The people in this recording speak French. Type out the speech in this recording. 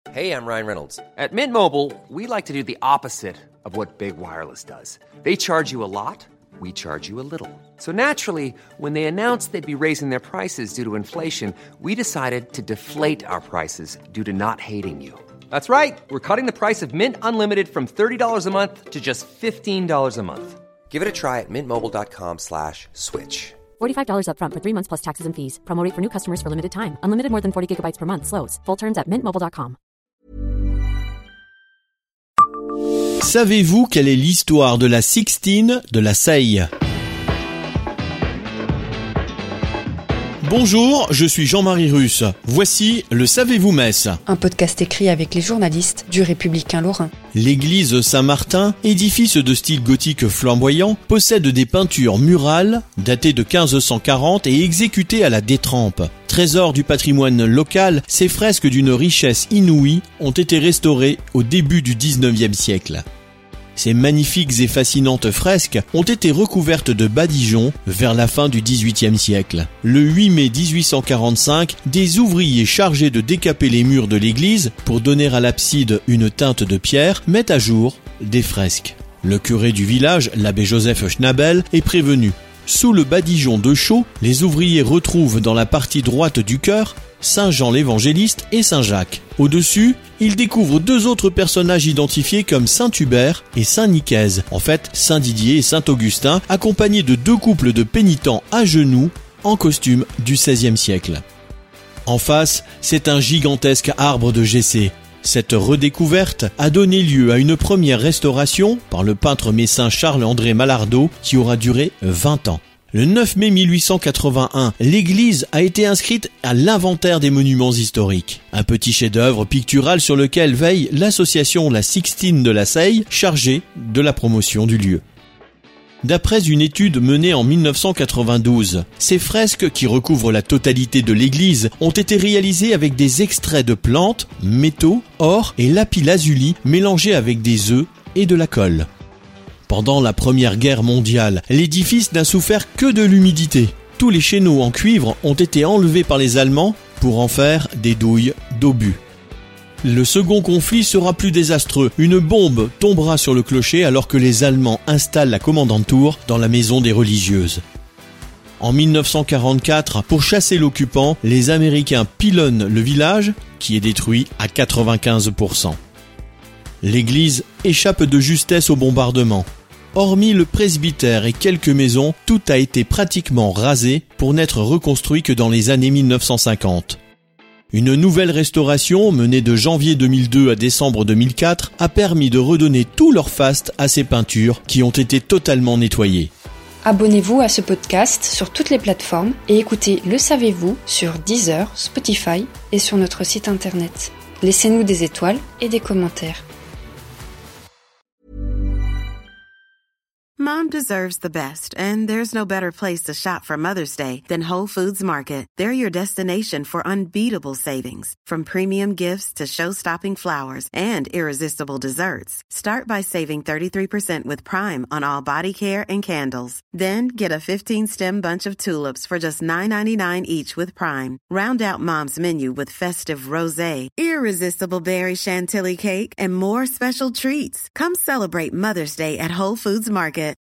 Hey, I'm Ryan Reynolds. At Mint Mobile, we like to do the opposite of what Big Wireless does. They charge you a lot, we charge you a little. So naturally, when they announced they'd be raising their prices due to inflation, we decided to deflate our prices due to not hating you. That's right. We're cutting the price of Mint Unlimited from $30 a month to just $15 a month. Give it a try at mintmobile.com/switch. $45 up front for 3 months plus taxes and fees. Promo rate for new customers for limited time. Unlimited more than 40 gigabytes per month. Slows full terms at mintmobile.com. Savez-vous quelle est l'histoire de la Sixtine de la Seille ? Bonjour, je suis Jean-Marie Russe. Voici le Savez-vous Metz ? Un podcast écrit avec les journalistes du Républicain Lorrain. L'église Saint-Martin, édifice de style gothique flamboyant, possède des peintures murales datées de 1540 et exécutées à la détrempe. Trésor du patrimoine local, ces fresques d'une richesse inouïe ont été restaurées au début du XIXe siècle. Ces magnifiques et fascinantes fresques ont été recouvertes de badigeons vers la fin du XVIIIe siècle. Le 8 mai 1845, des ouvriers chargés de décaper les murs de l'église pour donner à l'abside une teinte de pierre mettent à jour des fresques. Le curé du village, l'abbé Joseph Schnabel, est prévenu. Sous le badigeon de chaux, les ouvriers retrouvent dans la partie droite du chœur Saint Jean l'Évangéliste et Saint Jacques. Au-dessus, ils découvrent deux autres personnages identifiés comme Saint Hubert et Saint Nicaise, en fait Saint Didier et Saint Augustin, accompagnés de deux couples de pénitents à genoux en costume du XVIe siècle. En face, c'est un gigantesque arbre de Jessé. Cette redécouverte a donné lieu à une première restauration par le peintre messin Charles-André Mallardeau qui aura duré 20 ans. Le 9 mai 1881, l'église a été inscrite à l'inventaire des monuments historiques. Un petit chef-d'œuvre pictural sur lequel veille l'association La Sixtine de la Seille, chargée de la promotion du lieu. D'après une étude menée en 1992, ces fresques qui recouvrent la totalité de l'église ont été réalisées avec des extraits de plantes, métaux, or et lapis-lazuli mélangés avec des œufs et de la colle. Pendant la Première Guerre mondiale, l'édifice n'a souffert que de l'humidité. Tous les chéneaux en cuivre ont été enlevés par les Allemands pour en faire des douilles d'obus. Le second conflit sera plus désastreux. Une bombe tombera sur le clocher alors que les Allemands installent la commandanture dans la maison des religieuses. En 1944, pour chasser l'occupant, les Américains pilonnent le village qui est détruit à 95%. L'église échappe de justesse au bombardement. Hormis le presbytère et quelques maisons, tout a été pratiquement rasé pour n'être reconstruit que dans les années 1950. Une nouvelle restauration, menée de janvier 2002 à décembre 2004, a permis de redonner tout leur faste à ces peintures qui ont été totalement nettoyées. Abonnez-vous à ce podcast sur toutes les plateformes et écoutez Le Savez-vous sur Deezer, Spotify et sur notre site internet. Laissez-nous des étoiles et des commentaires. Mom deserves the best, and there's no better place to shop for Mother's Day than Whole Foods Market. They're your destination for unbeatable savings, from premium gifts to show-stopping flowers and irresistible desserts. Start by saving 33% with Prime on all body care and candles. Then get a 15-stem bunch of tulips for just $9.99 each with Prime. Round out Mom's menu with festive rosé, irresistible berry chantilly cake, and more special treats. Come celebrate Mother's Day at Whole Foods Market.